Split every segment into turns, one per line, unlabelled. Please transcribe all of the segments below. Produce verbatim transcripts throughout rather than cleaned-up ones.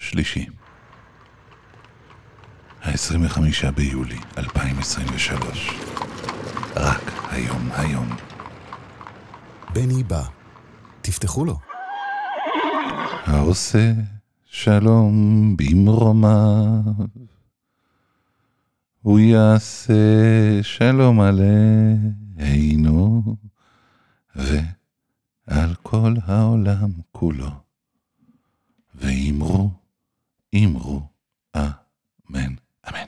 שלישי, ה-עשרים וחמישה ביולי אלפיים עשרים ושלוש. רק היום היום.
בני בא, תפתחו לו.
העושה שלום במרומיו, הוא יעשה שלום עלינו ועל כל העולם כולו, ואמרו, אמרו, אמן, אמן.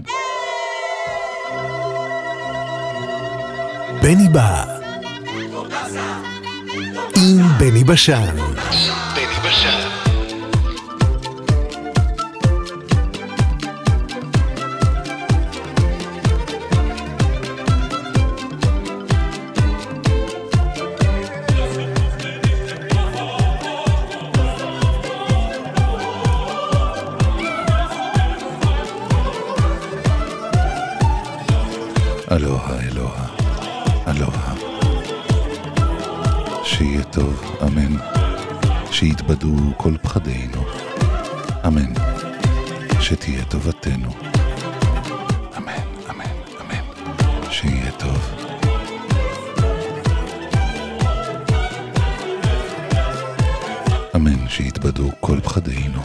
בני בא עם בני בשן. בני בשן.
אלוהה, אלוהה, אלוהה. שיהיה טוב, אמן. שיתבדו כל פחדינו, אמן. שתהיה טובתנו, אמן, אמן, אמן. שיהיה טוב. אמן. שיתבדו כל פחדינו,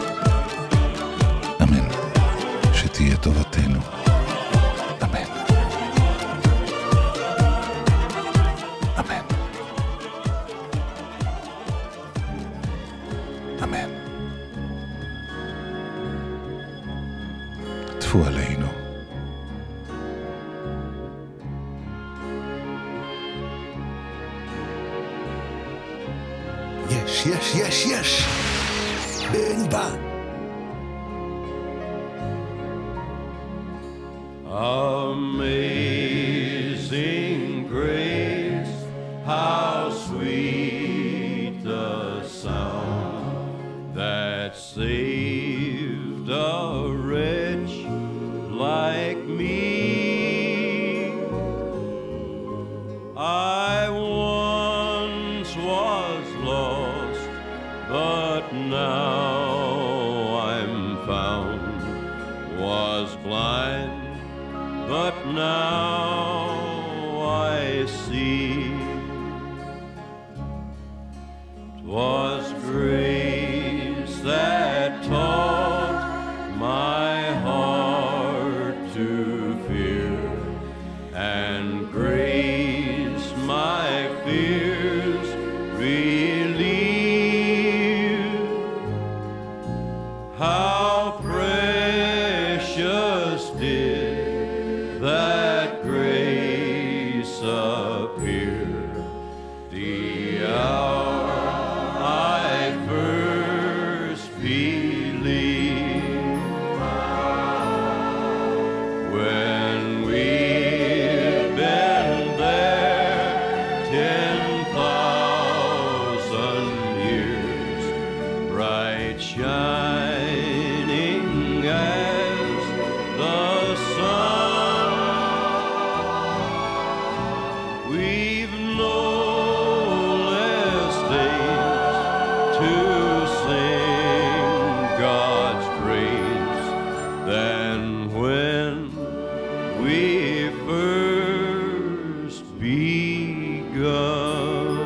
אמן. שתהיה טובתנו, אמן. אמן. טפו עלינו.
יש, יש, יש, יש. בני בא.
Amazing grace, how sweet the sound that saved a wretch like me. I once was lost, but now I'm found, was blind, but now I see. 'Twas grace that taught my heart to fear, and grace my fears relieved. How precious did that grace appear the hour I first believed. When we've been there ten thousand years, bright shining as the sun, we've no less days to sing God's praise than when we first begun.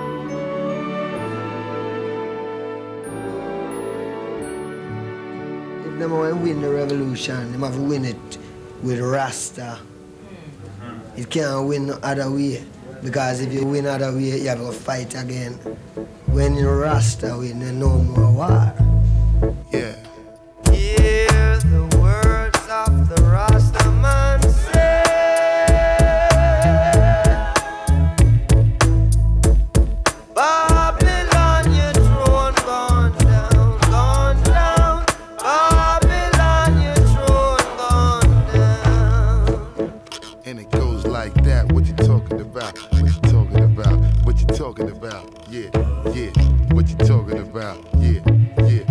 If them want to win the revolution, them have to win it with Rasta. It can't win no other way, because if you win other way, you have to fight again. When you Rasta win, there's no more war.
Yeah.
Hear the words of the Rasta man say. Babylon, your throne gone down, gone down. Babylon, your throne gone down.
And it goes like that. What you talking about? What you talking about? What you talking about? Yeah, yeah. What you talking about? Yeah, yeah.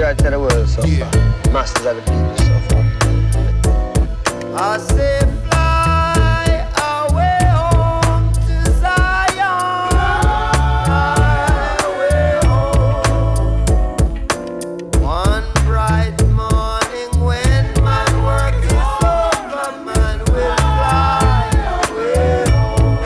right to the world suffer.
Yeah.
Masters of the people suffer. I say fly away home to Zion. Fly away home. One bright morning when my work is over, man will fly away home.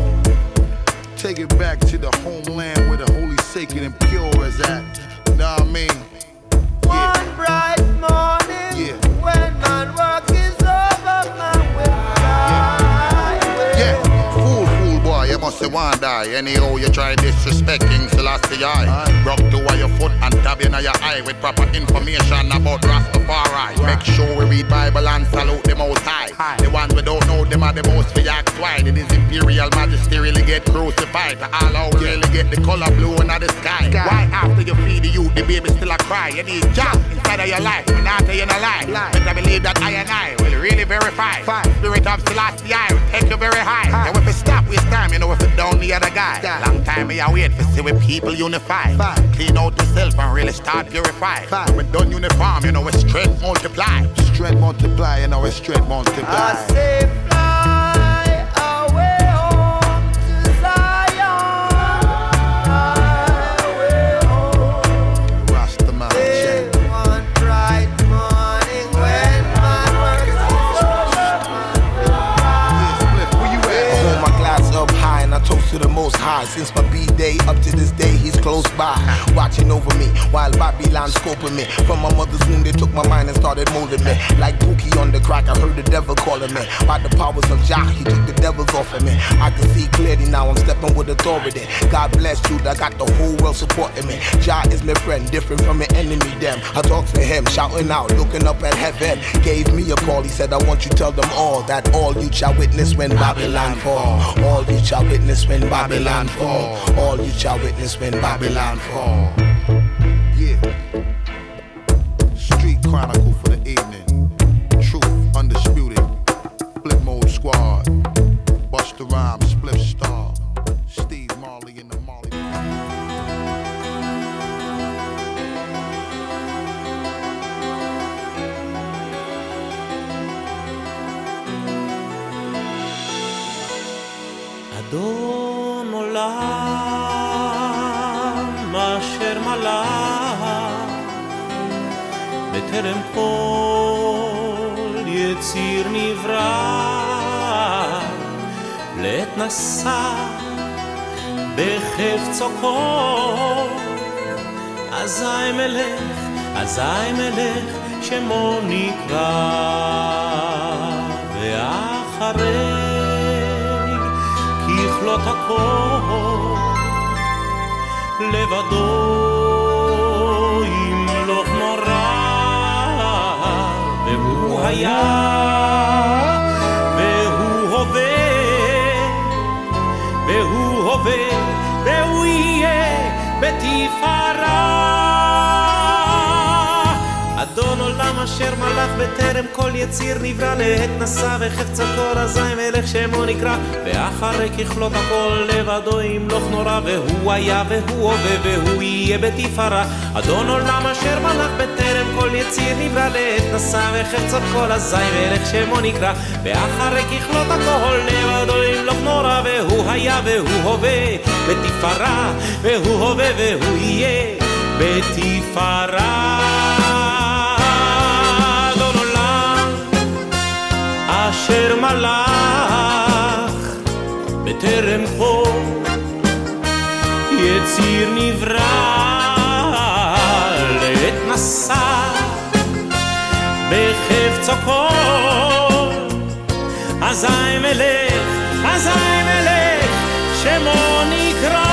Take it back to the homeland where the holy, sacred, and pure is at. Know what I mean?
One bright morning
Yeah.
when my work is over, man will fly away
Yeah,
home.
fool, fool boy, you must say one die. Anyhow, you try disrespect King Selassie I. Rock to your foot and tap in your eye with proper information about Rastafari. Make sure we read Bible and salute the Most High. The ones we don't know, them are the most for ask why. Did his imperial majesty really get crucified? To all out really get the color blue in the sky. Why after you feed the youth, the baby still a cry? You need job inside of your life, when after you no lie. But I believe that I and I will really verify. Spirit of Selassie I will take you very high. And if we stop waste time, you know if it down the other guy. Long time me I wait for see we people unify. Clean out yourself and really start purify. When done uniform, you know it's strength multiply. Strength multiply, you know it's strength multiply.
I say fly away home to Zion. Fly away home.
Rastaman,
Say
check.
one bright morning when my work is over, man will
Yeah, Split, where you
I
at?
hold my glass up high and I toast to the Most High. Since my B-day up to this day, he's close by, watching over me while Babylon scoping me. From my mother's womb, they took my mind and started molding me. Like Pookie on the crack, I heard the devil calling me. By the powers of Jah, he took the devils off of me. I can see clearly now, I'm stepping with authority. God bless you, I got the whole world supporting me. Jah is my friend, different from my enemy, them. I talk to him, shouting out, looking up at heaven. Gave me a call, he said, I want you to tell them all that all you shall witness when Babylon fall. All you shall witness when Babylon fall. All you shall witness when Babylon fall.
Yeah. Street Chronicle for the evening. Truth undisputed. Flip Mode Squad. Busta Rhymes, Split Star. Steve Marley in the Marley.
אדון עולם אשר מלך בטרם כל יציר נברא לעת נשא בחפצו כל אזי מלך אזי מלך שמו נקרא ואחרי ככלות הכל לבדו ימלוך נורא והוא היה והוא הווה והוא הווה והוא יהיה בתפארה אדון עולם אשר מלך בטרם כל יציר נברא לעת נשא וחפצו כל אזי מלך שמו נקרא ואחרי ככלות הכל לבדו ימלוך נורא והוא היה והוא הווה והוא יהיה בתפארה אדון עולם אשר מלך בטרם כל יציר נברא לעת נשא וחפצו כל אזי מלך שמו נקרא ואחרי ככלות הכל לבדו ימלוך נורא והוא היה והוא הווה בתפארה והוא הווה והוא יהיה בתפארה אשר מלך בטרם כל יציר נברא לעת נשא בחפצו כל אזי מלך אזי מלך שמו נקרא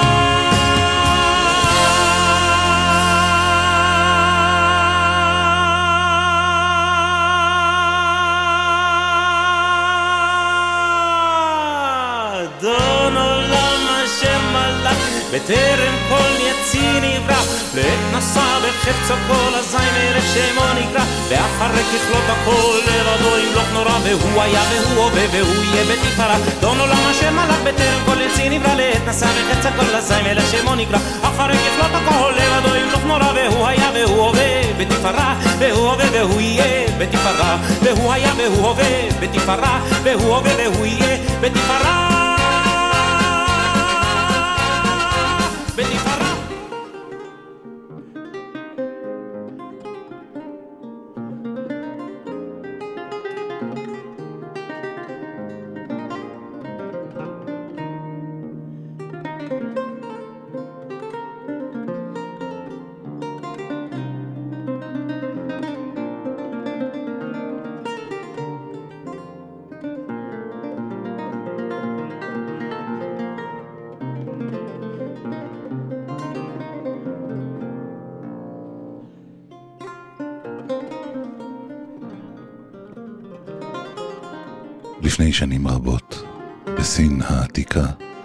בטרם כל יציר נברא לעת נשא בחפצו כל אזי מלך שמו נקרא ואחרי ככלות הכל לבדו ימלוך נורא והוא היה והוא הווה והוא יהיה בתפארה אדון עולם אשר מלך בטרם כל יציר נברא לעת נשא בחפצו כל אזי מלך שמו נקרא אחרי ככלות הכל לבדו ימלוך נורא והוא היה והוא הווה בתפארה, והוא הווה והוא יהיה בתפארה, והוא היה והוא הווה בתפארה, והוא הווה והוא יהיה בתפארה, בתפארה.
לפני שנים רבות, בסין העתיקה,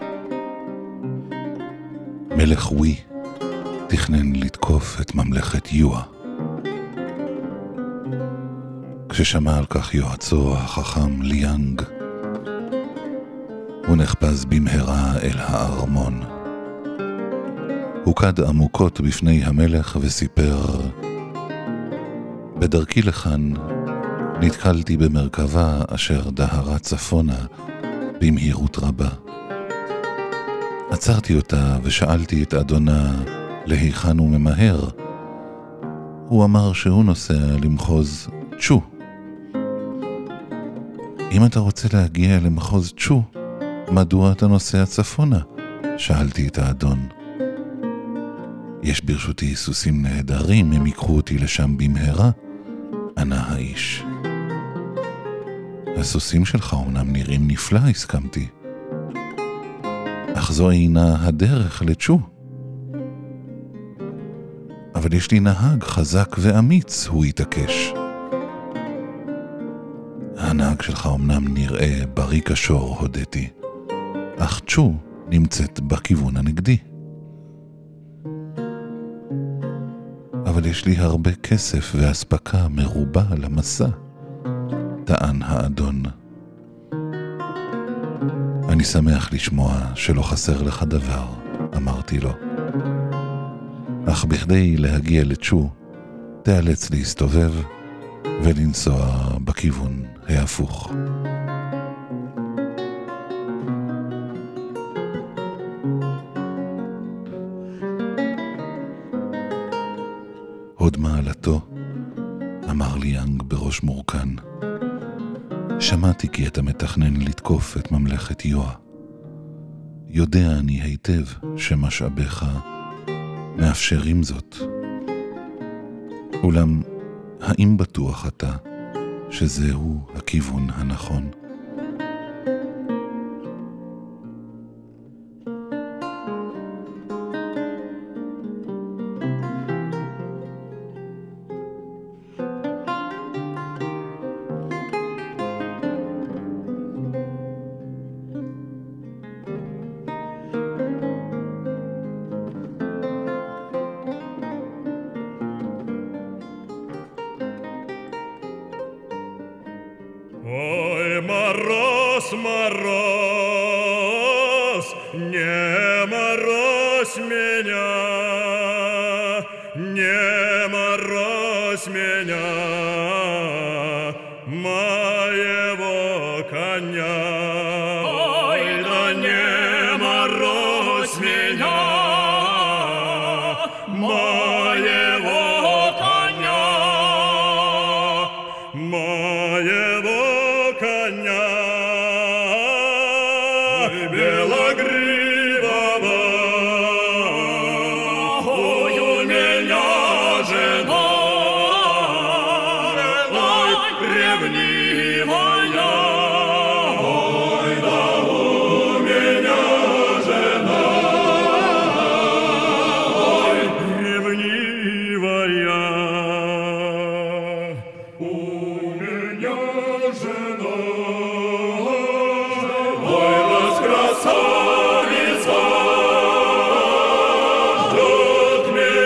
מלך ווי תכנן לתקוף את ממלכת יואה. כששמע על כך יועצו החכם ליאנג, הוא נחפז במהרה אל הארמון. הוא קד עמוקות בפני המלך וסיפר, בדרכי לכאן נתקלתי במרכבה אשר דהרה צפונה במהירות רבה. עצרתי אותה ושאלתי את אדונה להיכן הוא ממהר. הוא אמר שהוא נוסע למחוז צ'ו. אם אתה רוצה להגיע למחוז צ'ו, מדוע אתה נוסע צפונה? שאלתי את האדון. יש ברשותי סוסים נהדרים, הם ייקחו אותי לשם במהרה, ענה האיש. הסוסים שלך אומנם נראים נפלא, הסכמתי. אך זו אינה הדרך לצ'ו. אבל יש לי נהג חזק ואמיץ, הוא יתעקש. הנהג שלך אומנם נראה בריא כשור, הודיתי. אך צ'ו נמצאת בכיוון הנגדי. אבל יש לי הרבה כסף והספקה מרובה למסע, טען האדון. אני שמח לשמוע שלא חסר לך דבר, אמרתי לו. אך בכדי להגיע לצ'ו, תיאלץ להסתובב ולנסוע בכיוון ההפוך. הוד מעלתו, אמר ליאנג בראש מורכן, שמעתי כי אתה מתכנן לתקוף את ממלכת יואה. יודע אני היטב שמשאביך מאפשרים זאת. אולם, האם בטוח אתה שזהו הכיוון הנכון?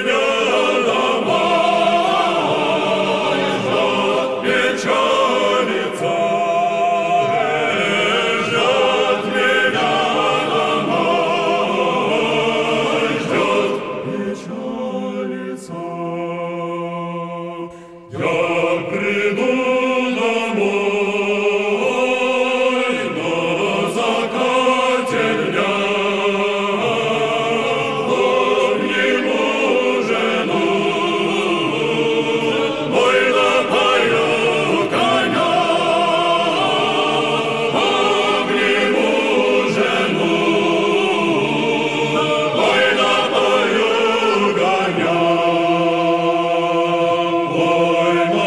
Johnny. Ой,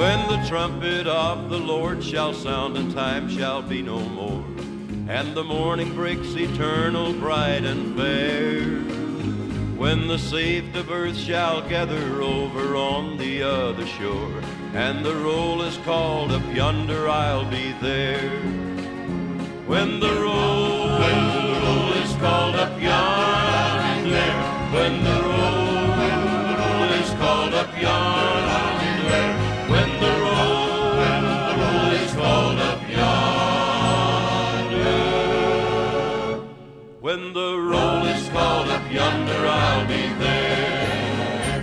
when the trumpet of the Lord shall sound and time shall be no more, and the morning breaks eternal, bright and fair, when the saved of earth shall gather over on the other shore, and the roll is called up yonder, I'll be there. When the roll, when the roll is called up yonder, when the roll, when the roll is called up yonder, when the roll, when the roll is called up yonder, when the roll is called up yonder, I'll be there.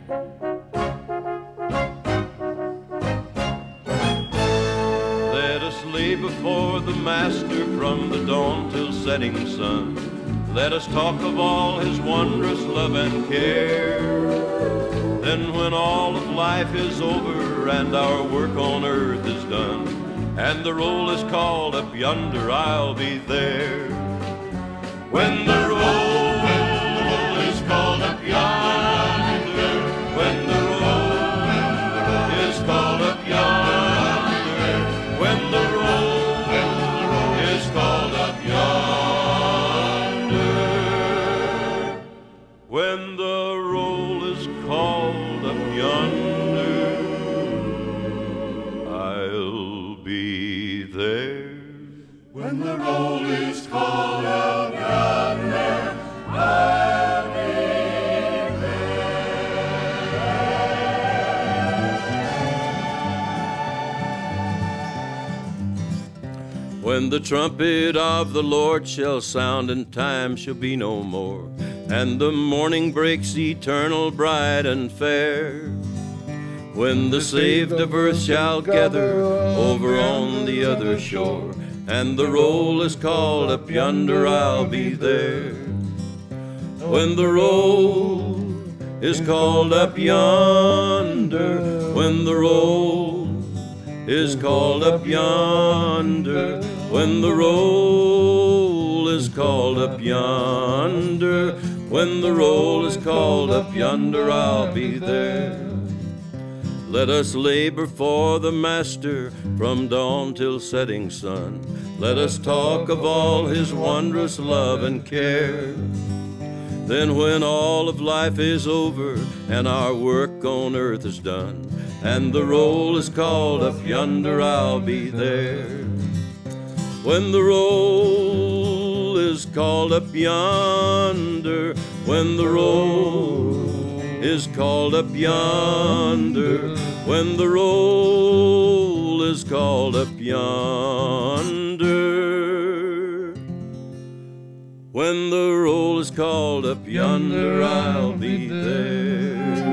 Let us lay before the Master from the dawn till setting sun. Let us talk of all his wondrous love and care. Then when all of life is over and our work on earth is done, and the roll is called up yonder, I'll be there. When the roll, when the roll is called up yonder, when the roll, when the roll is called up yonder, when the roll, when the roll is called up yonder, when the roll is called up yonder, I'll be there. When the roll is called up yonder, I'll be there. When the trumpet of the Lord shall sound and time shall be no more, and the morning breaks eternal, bright and fair, when the saved of earth shall gather over on the other shore, and the roll is called up yonder, I'll be there. When the roll is called up yonder, when the roll is called up yonder, when the roll is called up yonder, when the roll is called up yonder, I'll be there. Let us labor for the Master from dawn till setting sun. Let us talk of all his wondrous love and care. Then when all of life is over and our work on earth is done, and the roll is called up yonder, I'll be there. When the roll is called up yonder, when the roll is called up yonder, when the roll is called up yonder, when the roll is called up yonder, I'll be there.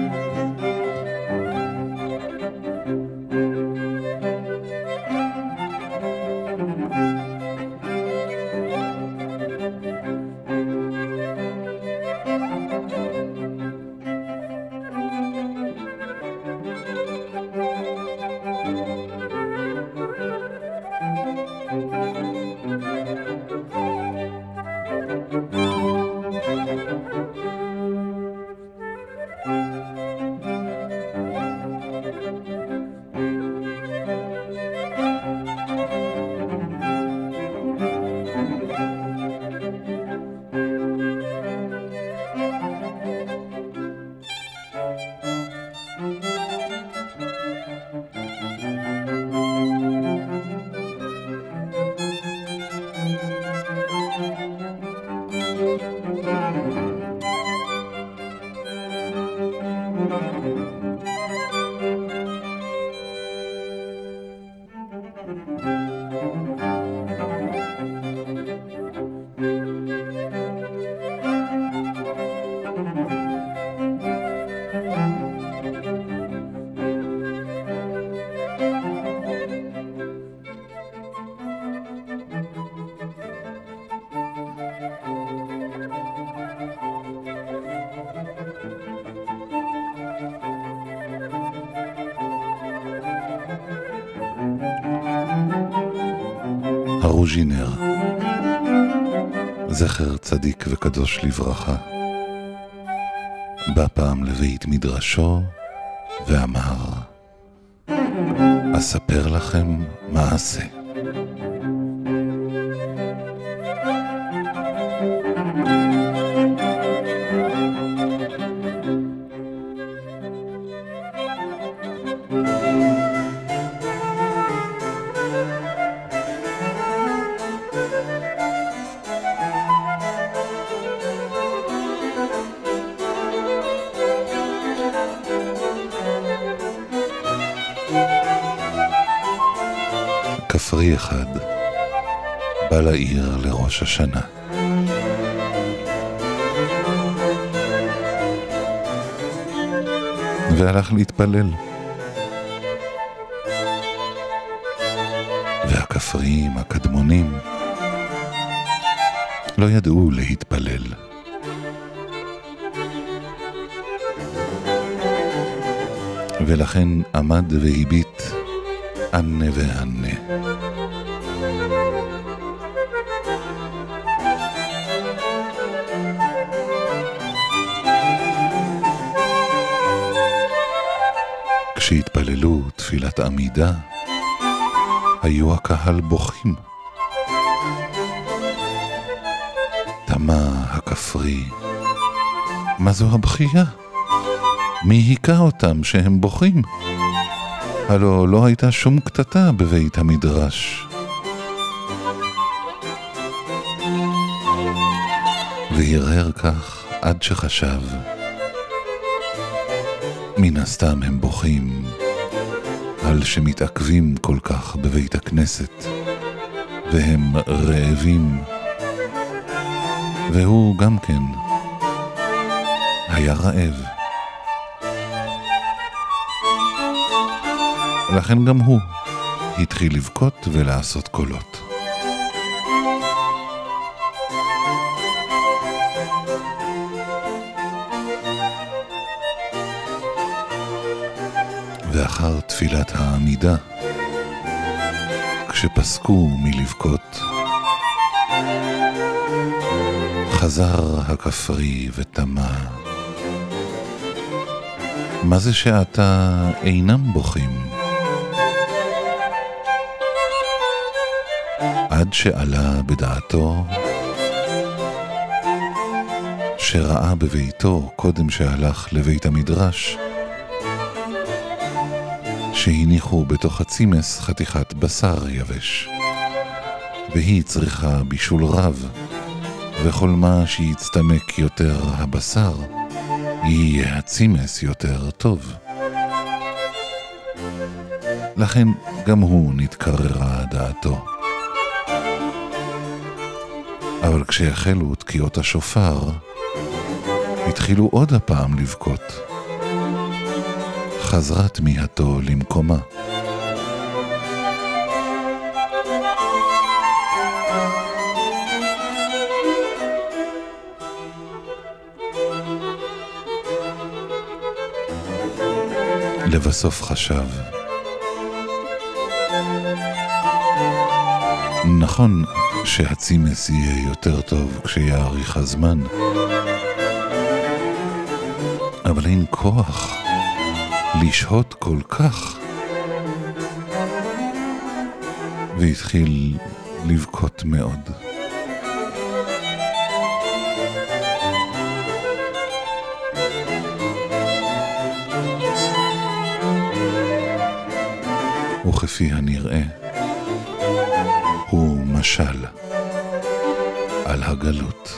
הרוז'ינר, זכר צדיק וקדוש לברכה, בא פעם לבית מדרשו ואמר, אספר לכם מעשה. כפרי אחד בא לעיר לראש השנה. והלך להתפלל. והכפריים הקדמונים לא ידעו להתפלל. ולכן עמד והביט ענה וענה. כשהתפללו תפילת עמידה, היו הקהל בוכים. תמה הכפרי, מה זו הבכייה? מי היכה אותם שהם בוכים? הלא לא הייתה שום קטטה בבית המדרש. והרהר כך עד שחשב, מן הסתם הם בוכים על שמתעכבים כל כך בבית הכנסת, והם רעבים, והוא גם כן היה רעב. לכן גם הוא התחיל לבכות ולעשות קולות. ואחר תפילת העמידה, כשפסקו מלבכות, חזר הכפרי ותמה, מה זה שעתה אינם בוכים? עד שעלה בדעתו שראה בביתו קודם שהלך לבית המדרש שהניחו בתוך הצימס חתיכת בשר יבש, והיא צריכה בישול רב, וכל מה שיצטמק יותר הבשר יהיה הצימס יותר טוב. לכן גם הוא נתקררה דעתו. אבל כשהחלו תקיעות השופר, התחילו עוד הפעם לבכות. חזרה תמיהתו למקומה. לבסוף חשב, נכון שהצימס יהיה יותר טוב כשיאריך הזמן, אבל אין כוח לשהות כל כך. והתחיל לבכות מאוד. וכפי הנראה, הוא משל על הגלות.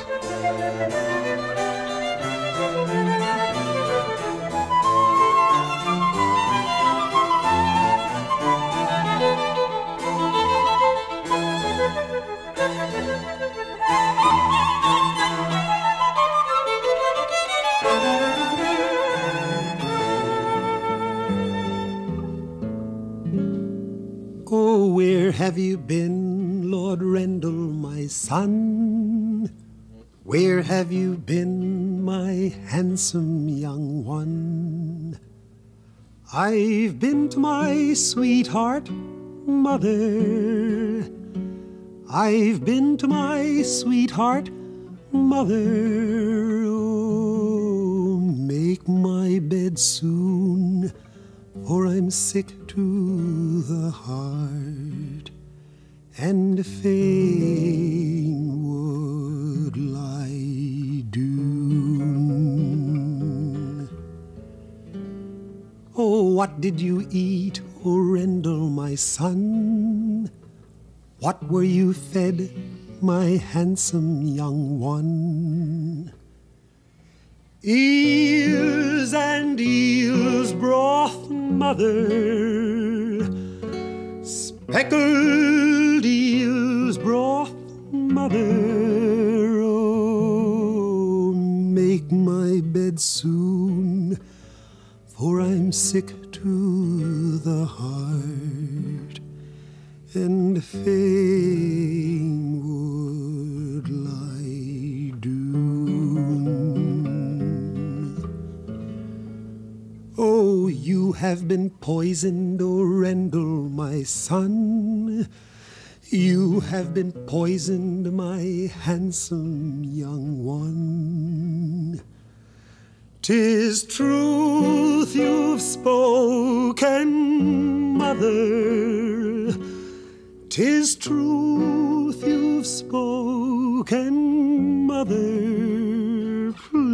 Oh, where have you been, Lord Rendell, my son? Where have you been, my handsome young one? I've been to my sweetheart, mother. I've been to my sweetheart, mother. Oh, make my bed soon, for I'm sick to to the heart, and fain would lie down. Oh, what did you eat, O Rendell, my son? What were you fed, my handsome young one? Eels and eels broth, mother, speckled eels broth, mother. Oh, make my bed soon, for I'm sick to the heart, and fain would lie down. Oh, you have been poisoned, O Rendell, my son. You have been poisoned, my handsome young one. 'Tis truth you've spoken, mother. 'Tis truth you've spoken, mother.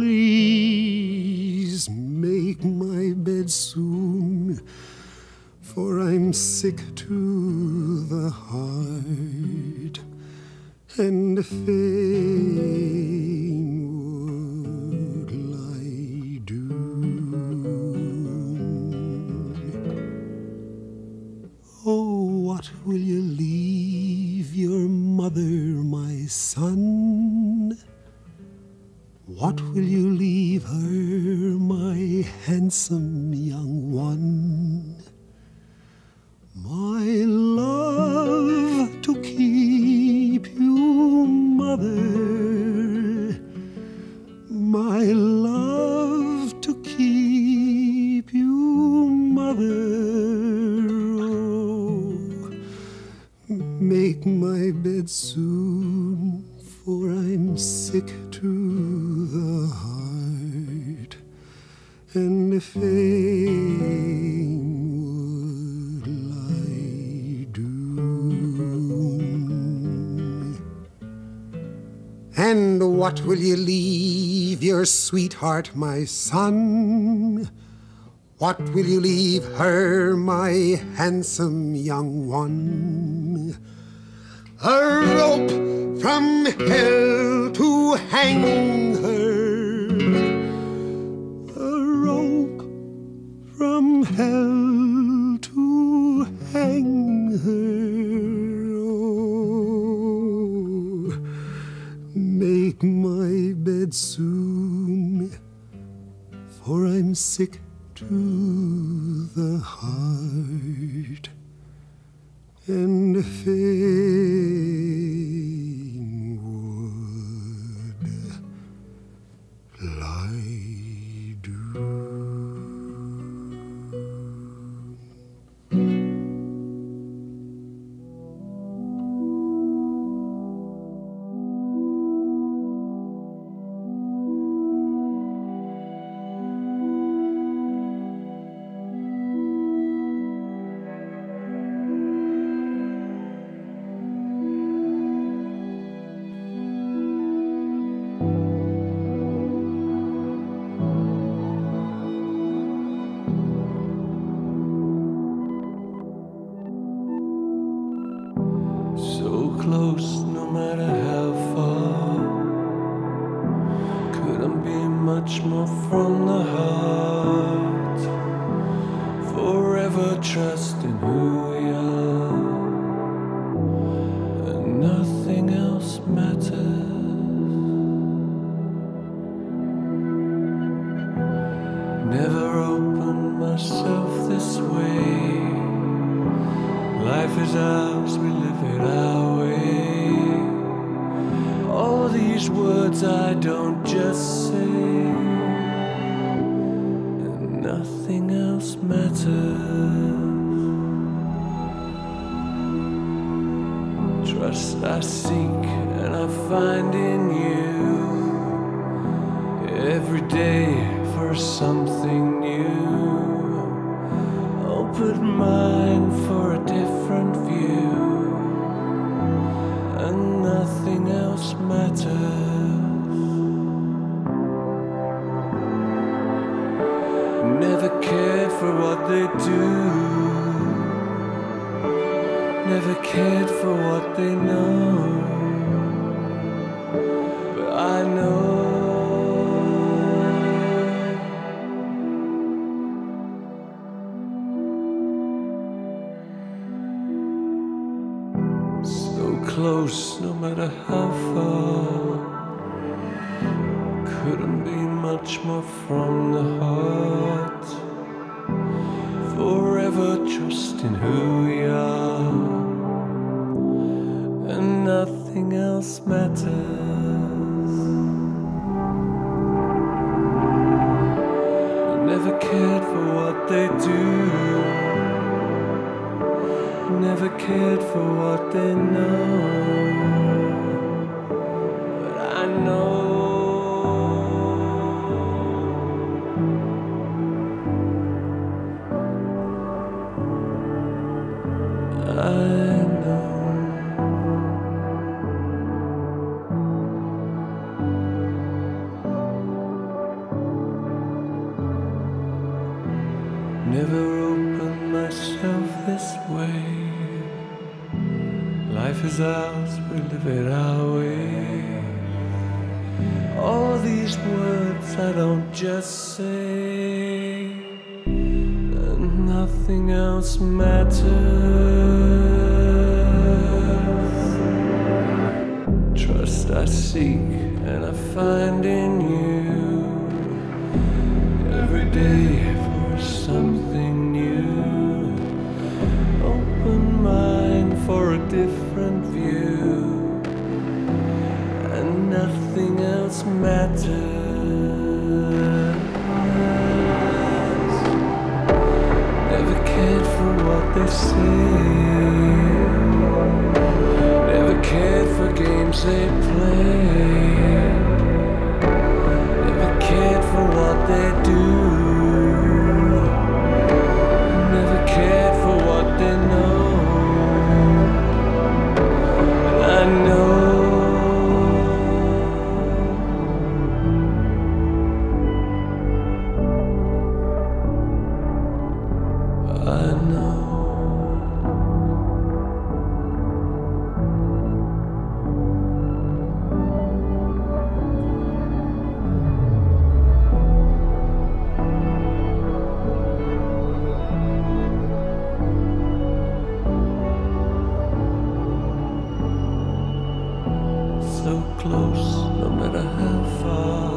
Please make my bed soon, for I'm sick to the heart, and fain would lie down. Oh, what will you leave your mother, my son? What will you leave her, my handsome young one? My love to keep you, mother. My love to keep you, mother. Oh, make my bed soon, for I'm sick to the heart, and fain would lie down. And what will you leave your sweetheart, my son? What will you leave her, my handsome young one? A rope from hell to hang her, a rope from hell to hang her. Oh, make my bed soon, for I'm sick to the heart, and fain would lie down.
Every day for something new. Open offered mine for a different view, and nothing else matters. Never cared for what they do, never cared for what they know, but I know so close, no matter how far, couldn't be much more from the heart. Forever trusting who we are, and nothing else matters. I never cared for what they do, never cared for what they know, but I know never opened myself this way. Life is ours, we live it our way. All these words I don't just say, and nothing else matters. Trust I seek and I find in you every day for something new. Open mind for a different view, and nothing else matters. Never cared for what they say, never cared for games they play, never cared for what they do, never cared for what they know, and I know I know so close, no matter how far,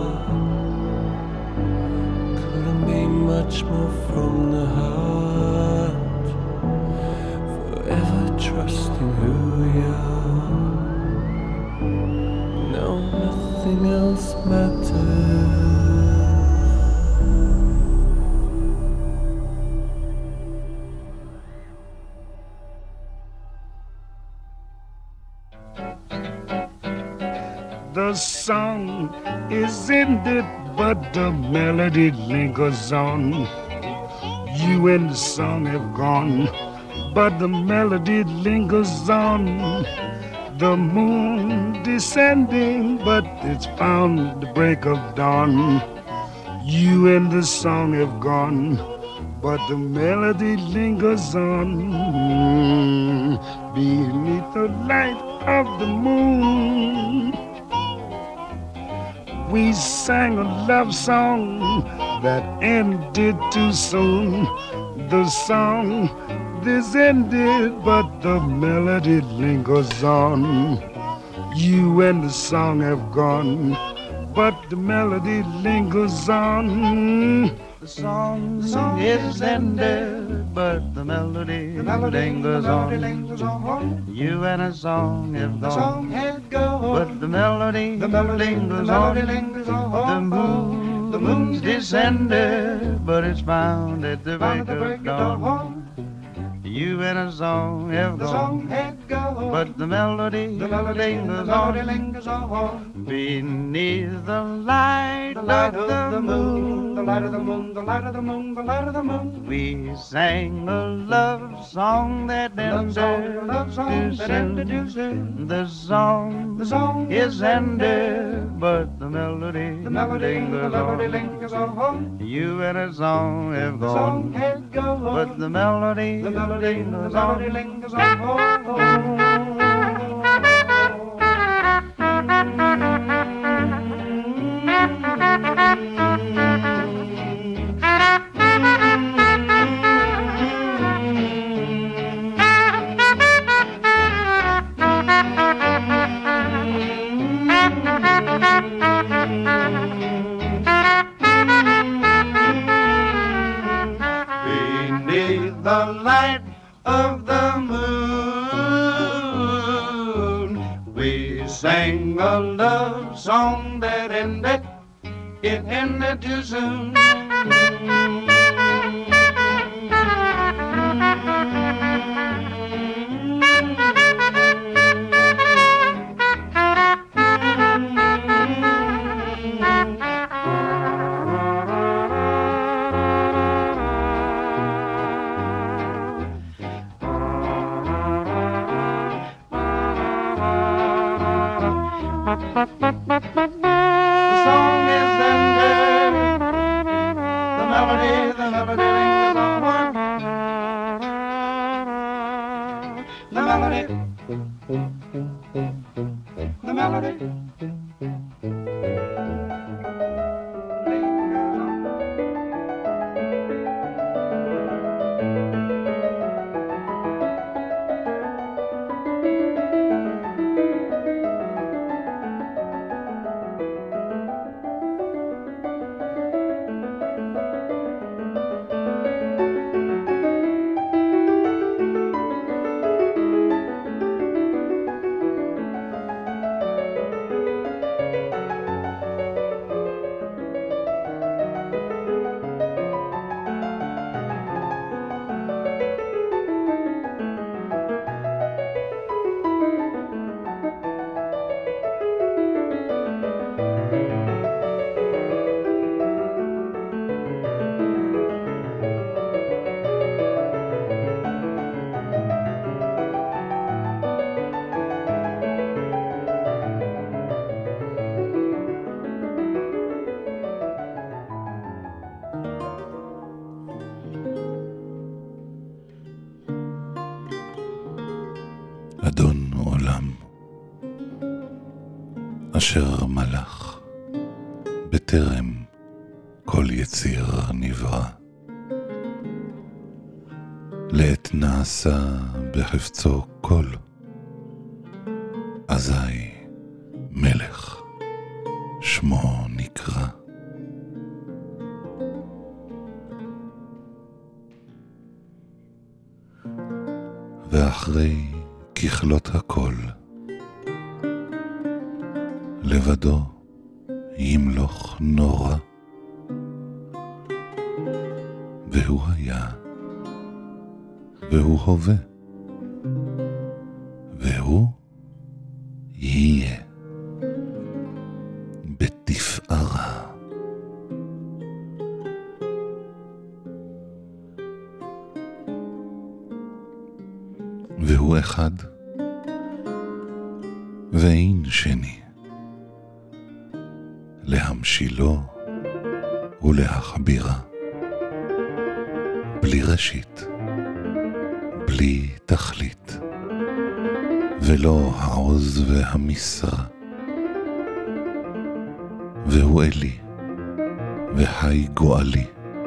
couldn't be much more from the heart. Forever trusting who we are, no, nothing else matters.
The song is ended, but the melody lingers on. You and the song have gone, but the melody lingers on. The moon descending, but it's found the break of dawn. You and the song have gone, but the melody lingers on. Beneath the light of the moon, we sang a love song that ended too soon. The song is ended, but the melody lingers on. You and the song have gone, but the melody lingers on.
The song, the song is ended, but the melody, the melody lingers, the melody on. lingers on. You and a song have gone, the song had gone, but the melody, the melody lingers, the melody on. Lingers on. The moon, the moon's descended, but it's found at the break of dawn. You and a song have the gone, song had gone, but the melody, the melody lingers, the melody lingers on. Beneath the light, the light of, of the moon, the light of the moon, the light of the moon, the light of the moon. We sang a love song that ended, love song that ended too soon. The song, the song is ended, but the melody, the melody, the melody lingers on. You and a song have gone, the song has gone, but the melody, the melody, the melody lingers on. Beneath the light of the moon, we sang a love song that ended, it ended too soon. The song is ended, the melody, the melody lingers on. The melody, the melody.
אדון עולם, אשר מלך בטרם כל יציר נברא, לעת נעשה בחפצו כל, אזי מלך שמו נקרא. ואחרי ככלות הכל, לבדו ימלוך נורא, והוא היה, והוא הווה, והוא יהיה בתפארה. והוא אחד, ואין שני, להמשילו ולהכבירה, בלי ראשית, בלי תכלית, ולא העוז והמשרה. והוא אלי, והי גואלי,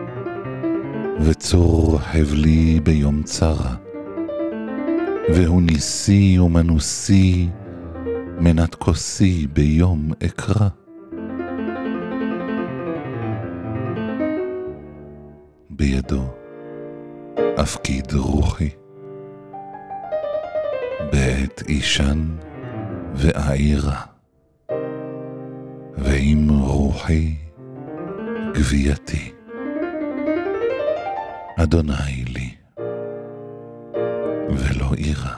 וצור חבלי ביום צרה, והוא ניסי ומנוסי, מנת כוסי ביום אקרא. בידו אפקיד רוחי, בעת אישן ואעירה, ועם רוחי גבייתי, אדוני לי ולא אירה.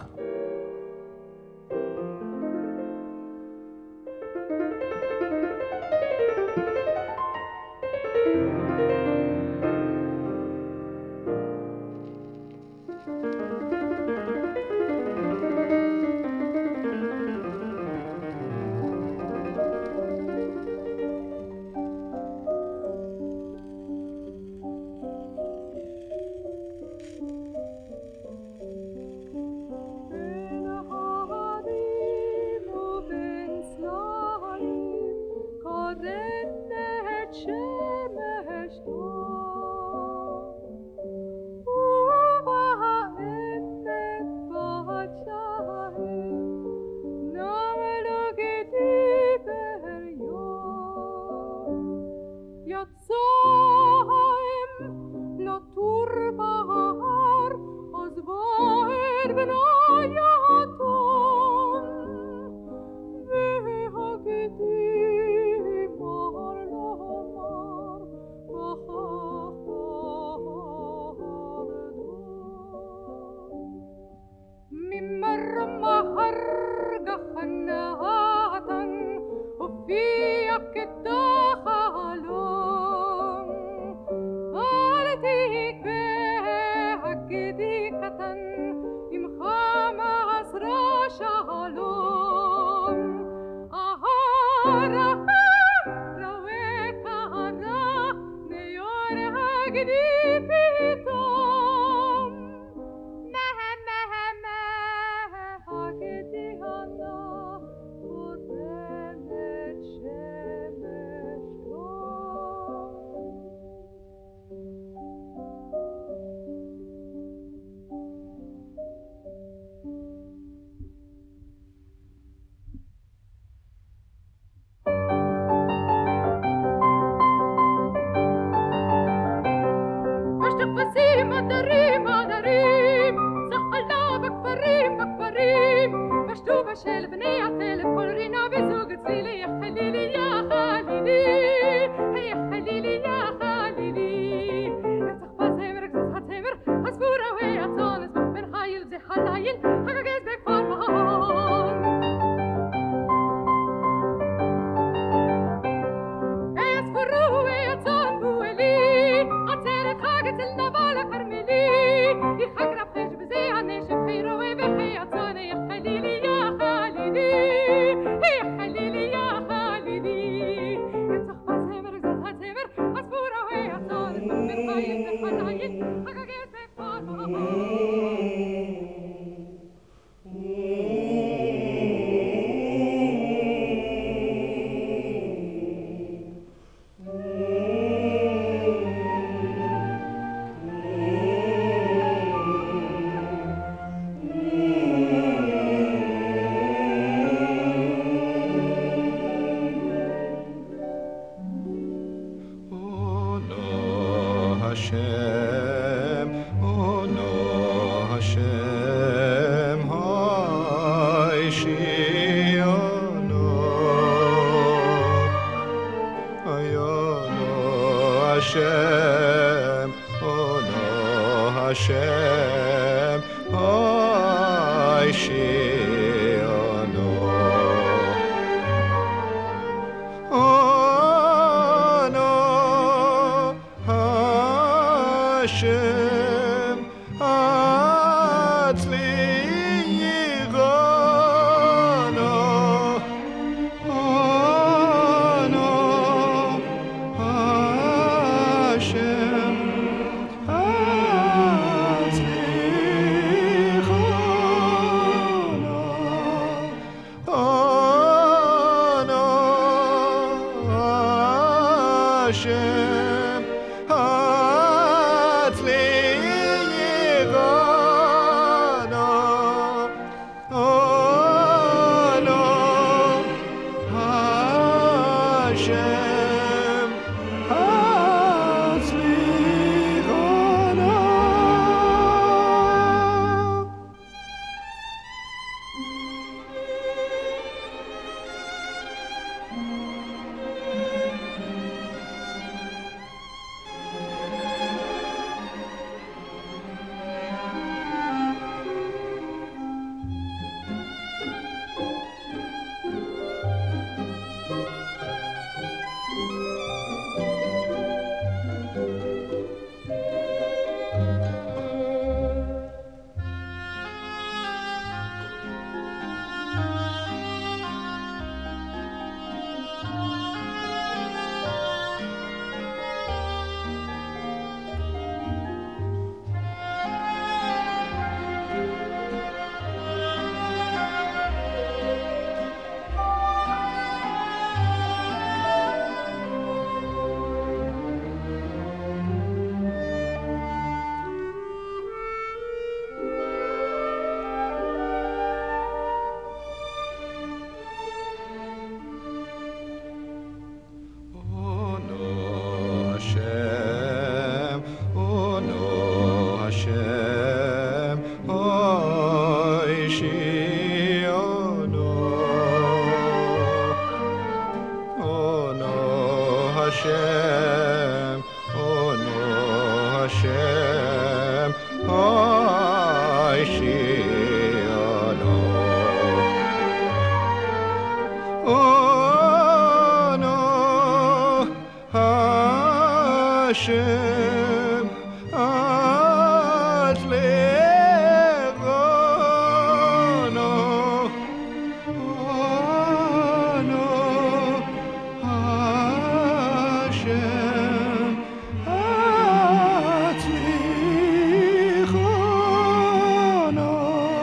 Hashem, oh no Hashem, oh Shiano, oh no Hashem, at legono, oh no Hashem, at legono,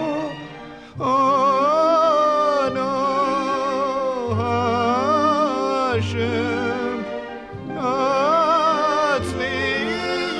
oh no Hashem, at legono.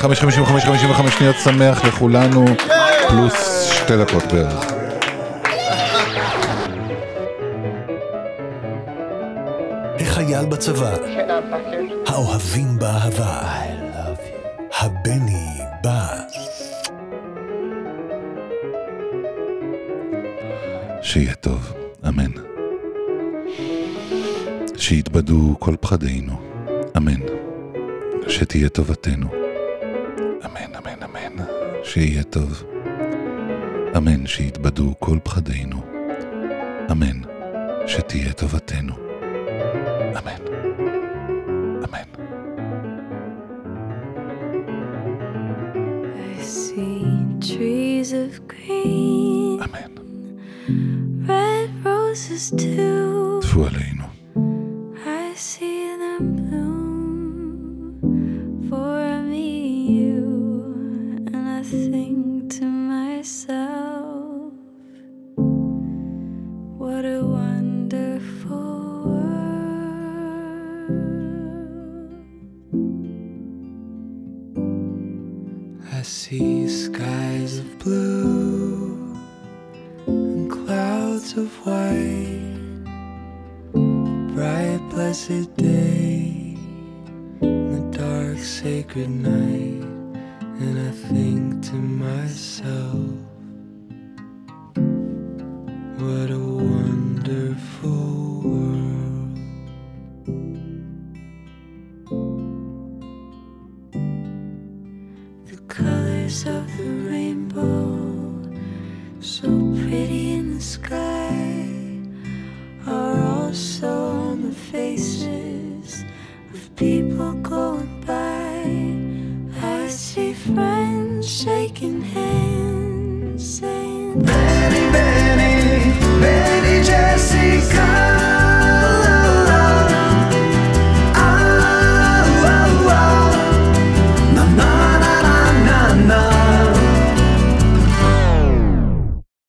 חמש חמישים וחמש חמישים וחמש שניות שמח לכולנו, פלוס שתי דקות בערך.
החייל בצבא, האוהבים באהבה, הבני בא.
שיהיה טוב, אמן. שיתבדו כל פחדינו, אמן. שתהיה טובתנו, אמן, אמן, אמן. שיהיה טוב, אמן. שיתבדו כל פחדינו, אמן. שתהיה טובתנו, אמן, אמן.
I see trees of green,
אמן.
red roses too.
תפו עלינו.
I see them bloom for me, you, and I think to myself, what a wonderful world.
I see skies of blue and clouds of white, bright blessed day, the dark sacred night, and I think to myself, what a wonderful world.
The colors of the rainbow, so pretty in the sky, are also on the faces of people going by. I see friends shaking hands.